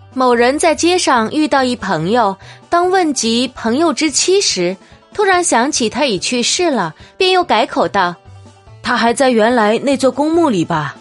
某人在街上遇到一朋友，当问及朋友之妻时，突然想起他已去世了，便又改口道： 他还在原来那座公墓里吧。